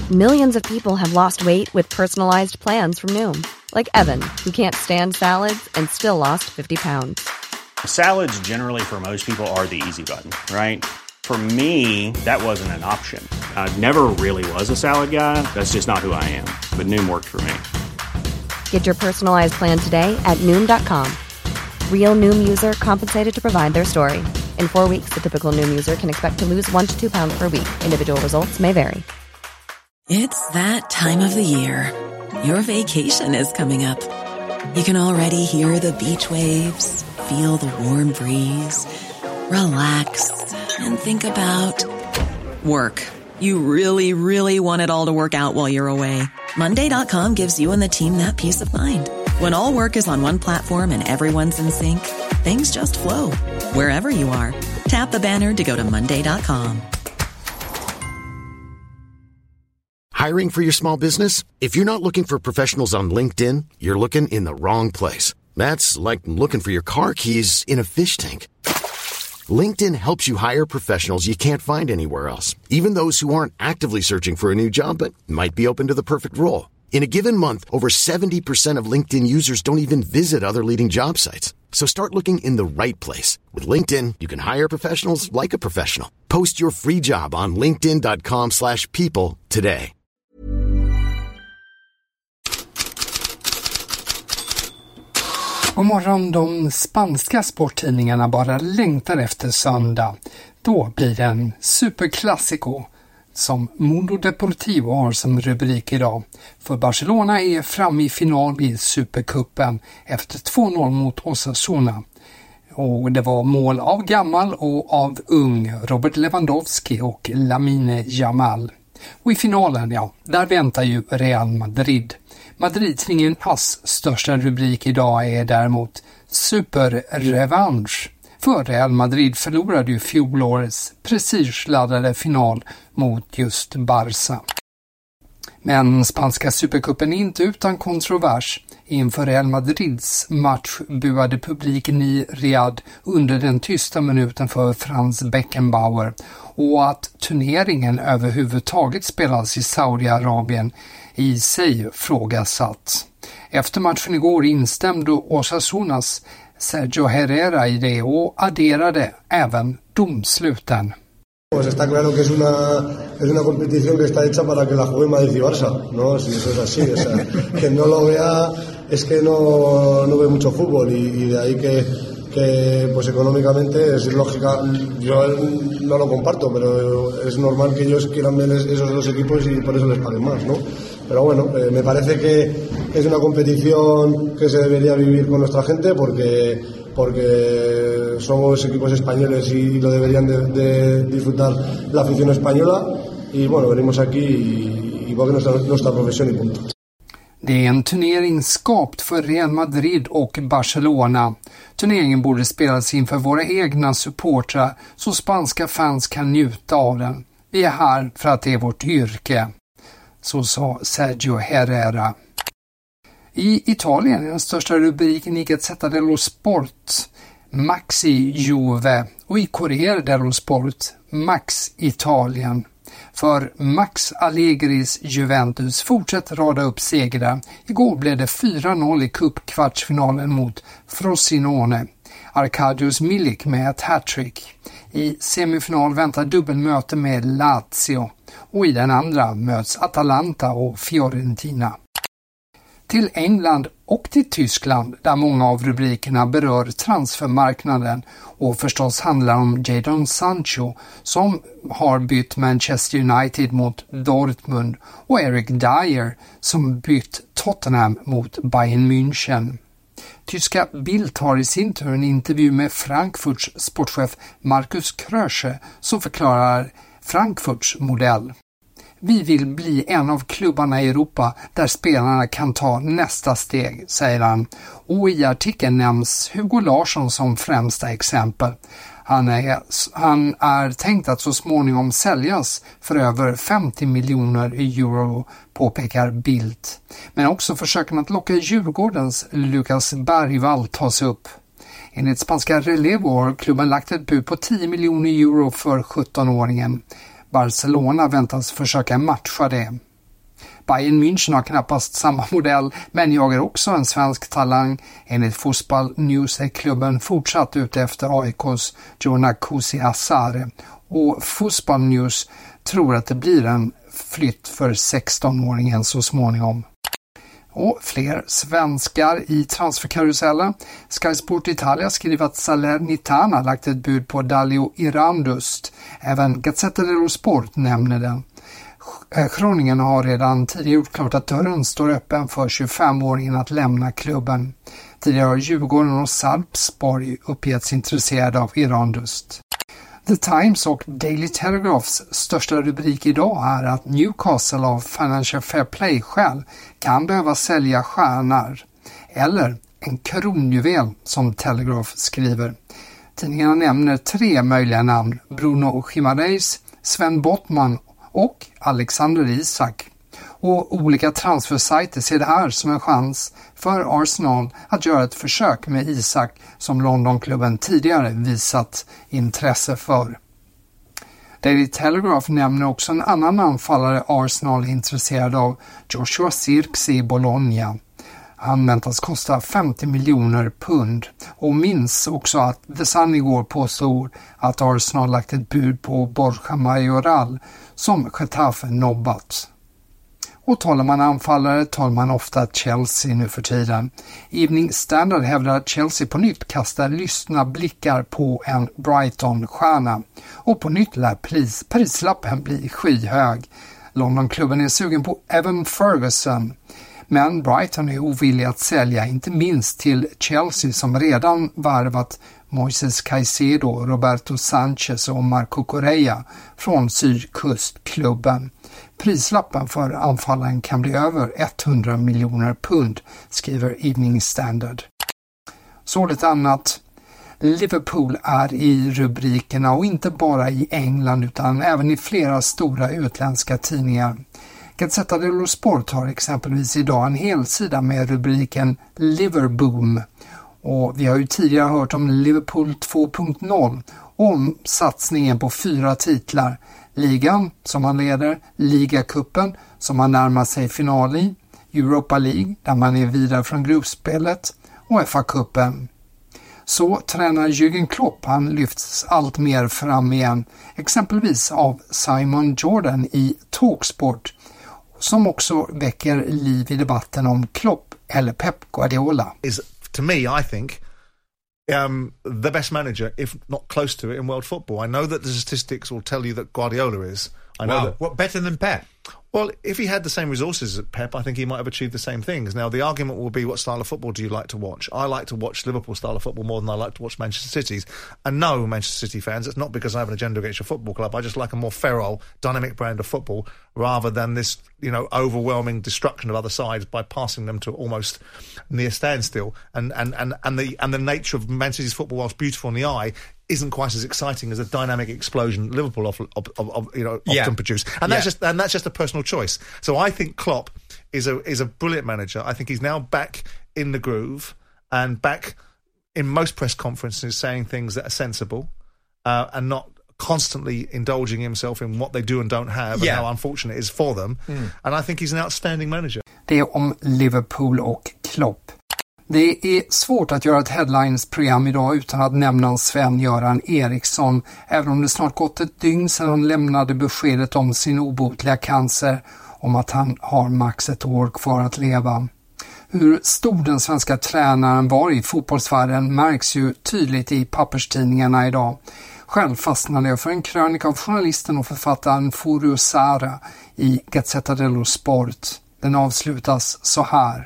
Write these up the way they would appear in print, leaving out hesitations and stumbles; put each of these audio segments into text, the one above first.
Millions of people have lost weight with personalized plans from Noom. Like Evan, who can't stand salads and still lost 50 pounds. Salads generally for most people are the easy button, right? For me, that wasn't an option. I never really was a salad guy. That's just not who I am. But Noom worked for me. Get your personalized plan today at Noom.com. Real Noom user compensated to provide their story. In 4 weeks, the typical Noom user can expect to lose 1 to 2 pounds per week. Individual results may vary. It's that time of the year. Your vacation is coming up. You can already hear the beach waves, feel the warm breeze, relax, and think about work. You really, really want it all to work out while you're away. Monday.com gives you and the team that peace of mind. When all work is on one platform and everyone's in sync, things just flow. Wherever you are, tap the banner to go to Monday.com. Hiring for your small business? If you're not looking for professionals on LinkedIn, you're looking in the wrong place. That's like looking for your car keys in a fish tank. LinkedIn helps you hire professionals you can't find anywhere else, even those who aren't actively searching for a new job but might be open to the perfect role. In a given month, over 70% of LinkedIn users don't even visit other leading job sites. So start looking in the right place. With LinkedIn, you can hire professionals like a professional. Post your free job on linkedin.com/people today. God morgon, de spanska sporttidningarna bara längtar efter söndag. Då blir det en superklassiko som Mundo Deportivo har som rubrik idag. För Barcelona är framme i final i Supercupen efter 2-0 mot Osasuna. Och det var mål av gammal och av ung Robert Lewandowski och Lamine Yamal. Och i finalen, ja, där väntar ju Real Madrid. Madridtidningens största rubrik idag är däremot superrevansch. För Real Madrid förlorade ju fjolårets prestigeladdade final mot just Barca. Men spanska supercupen är inte utan kontrovers. Inför Real Madrids match buade publiken i Riyadh under den tysta minuten för Franz Beckenbauer, och att turneringen överhuvudtaget spelas i Saudiarabien i sig frågasatt. Efter matchen igår instämde Osasunas Sergio Herrera i det och adderade även domsluten. Pues está claro que es una competición que está hecha para que la juegue Madrid y Barça, ¿no? Si eso es así, o sea, que no lo vea es que no ve mucho fútbol y de ahí que pues económicamente es lógica, yo no lo comparto, pero es normal que ellos quieran ver esos dos equipos y por eso les paguen más, ¿no? Pero bueno, me parece que es una competición que se debería vivir con nuestra gente porque somos equipos españoles y lo deberían de disfrutar la afición española, y bueno, venimos aquí y porque nuestra profesión y punto. Det är en turnering skapt för Real Madrid och Barcelona. Turneringen borde spelas inför våra egna supportrar så spanska fans kan njuta av den. Vi är här för att det är vårt yrke. Så sa Sergio Herrera. I Italien är den största rubriken i Gazzetta dello Sport Maxi Juve, och i Corriere dello Sport Max Italien. För Max Allegris Juventus fortsätter rada upp segrar. Igår blev det 4-0 i cupkvartsfinalen mot Frosinone. Arkadiusz Milik med ett hattrick. I semifinal väntar dubbelmöte med Lazio, och i den andra möts Atalanta och Fiorentina. Till England och till Tyskland, där många av rubrikerna berör transfermarknaden och förstås handlar om Jadon Sancho som har bytt Manchester United mot Dortmund och Eric Dyer som bytt Tottenham mot Bayern München. Tyska Bild har i sin tur en intervju med Frankfurts sportchef Markus Krösche som förklarar Frankfurts modell. Vi vill bli en av klubbarna i Europa där spelarna kan ta nästa steg, säger han. Och i artikeln nämns Hugo Larsson som främsta exempel. Han är tänkt att så småningom säljas för över 50 miljoner euro, påpekar Bildt. Men också försöken att locka Djurgårdens Lukas Bergvall tas upp. Enligt spanska Relevo har klubben lagt ett bud på 10 miljoner euro för 17-åringen. Barcelona väntas försöka matcha det. Bayern München har knappast samma modell, men jagar också en svensk talang. Enligt Fotboll News är klubben fortsatt ute efter AIKs Jona Kusi-Asare. Och Fotboll News tror att det blir en flytt för 16-åringen så småningom. Och fler svenskar i transferkarusellen. Sky Sport Italia skriver att Salernitana lagt ett bud på Dalio Irandust. Även Gazzetta dello Sport nämner den. Groningen har redan tidigare gjort klart att dörren står öppen för 25-åringen att lämna klubben. Tidigare har Djurgården och Sarpsborg uppgetts intresserade av Irandust. The Times och Daily Telegraphs största rubrik idag är att Newcastle av Financial Fair Play-skäl kan behöva sälja stjärnor. Eller en kronjuvel som Telegraph skriver. Tidningarna nämner 3 möjliga namn: Bruno Gimareis, Sven Bottman och Alexander Isak. Och olika transfersajter ser det här som en chans för Arsenal att göra ett försök med Isak som Londonklubben tidigare visat intresse för. Daily Telegraph nämner också en annan anfallare Arsenal är intresserad av, Joshua Zirkzee i Bologna. Han väntas kosta 50 miljoner pund och minns också att The Sun igår påstod att Arsenal lagt ett bud på Borja Mayoral som Getafe nobbat. Och talar man anfallare talar man ofta Chelsea nu för tiden. Evening Standard hävdar att Chelsea på nytt kastar lystna blickar på en Brighton-stjärna. Och på nytt lär prislappen bli skyhög. Londonklubben är sugen på Evan Ferguson. Men Brighton är ovillig att sälja, inte minst till Chelsea som redan varvat Moises Caicedo, Roberto Sanchez och Marco Correa från sydkustklubben. Prislappen för anfallaren kan bli över 100 miljoner pund, skriver Evening Standard. Så lite annat. Liverpool är i rubrikerna och inte bara i England utan även i flera stora utländska tidningar. Gazzetta dello Sport har exempelvis idag en hel sida med rubriken Liverboom. Och vi har ju tidigare hört om Liverpool 2.0 om satsningen på 4 titlar. Ligan som man leder, Ligacupen som man närmar sig final i, Europa League där man är vidare från gruppspelet och FA-cupen. Så tränar Jürgen Klopp, han lyfts allt mer fram igen, exempelvis av Simon Jordan i Talksport, som också väcker liv i debatten om Klopp eller Pep Guardiola. To me, I think, the best manager, if not close to it, in world football. I know that the statistics will tell you that Guardiola is. I know that. What, better than Pep? Well, if he had the same resources as Pep, I think he might have achieved the same things. Now, the argument will be, what style of football do you like to watch? I like to watch Liverpool style of football more than I like to watch Manchester City's. And no, Manchester City fans, it's not because I have an agenda against your football club. I just like a more feral, dynamic brand of football rather than this, overwhelming destruction of other sides by passing them to almost near standstill. And the nature of Manchester City's football, whilst beautiful in the eye, isn't quite as exciting as a dynamic explosion Liverpool often produce, and that's just a personal choice. So I think Klopp is a brilliant manager. I think he's now back in the groove and back in most press conferences saying things that are sensible and not constantly indulging himself in what they do and don't have and how unfortunate it is for them. And I think he's an outstanding manager. Det är om Liverpool och Klopp. Det är svårt att göra ett headlines-program idag utan att nämna Sven-Göran Eriksson, även om det snart gått ett dygn sedan han lämnade beskedet om sin obotliga cancer, om att han har max ett år kvar att leva. Hur stor den svenska tränaren var i fotbollsvärlden märks ju tydligt i papperstidningarna idag. Själv fastnade jag för en krönika av journalisten och författaren Furio Sara i Gazzetta dello Sport. Den avslutas så här.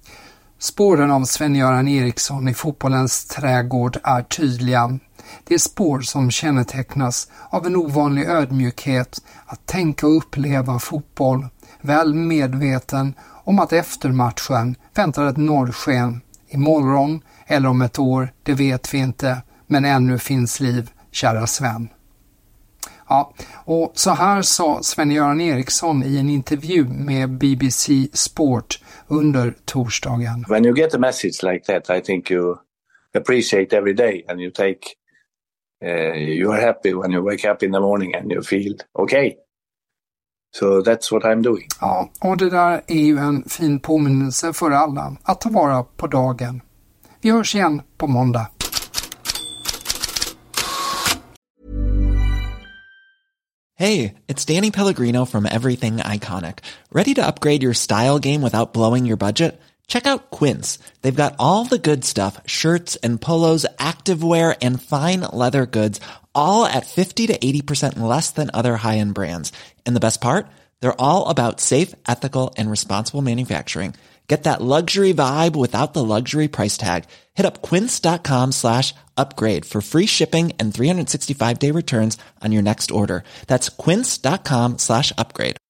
Spåren av Sven-Göran Eriksson i fotbollens trädgård är tydliga. Det är spår som kännetecknas av en ovanlig ödmjukhet att tänka och uppleva fotboll, väl medveten om att efter matchen väntar ett norrsken. Imorgon eller om ett år, det vet vi inte, men ännu finns liv, kära Sven. Ja, och så här sa Sven-Göran Eriksson i en intervju med BBC Sport under torsdagen. When you get a message like that, I think you appreciate every day and you take, you are happy when you wake up in the morning and you feel okay. So that's what I'm doing. Ja, och det där är ju en fin påminnelse för alla att ta vara på dagen. Vi hörs igen på måndag. Hey, it's Danny Pellegrino from Everything Iconic. Ready to upgrade your style game without blowing your budget? Check out Quince. They've got all the good stuff, shirts and polos, activewear, and fine leather goods, all at 50 to 80% less than other high-end brands. And the best part? They're all about safe, ethical, and responsible manufacturing. Get that luxury vibe without the luxury price tag. Hit up quince.com/upgrade for free shipping and 365-day returns on your next order. That's quince.com/upgrade.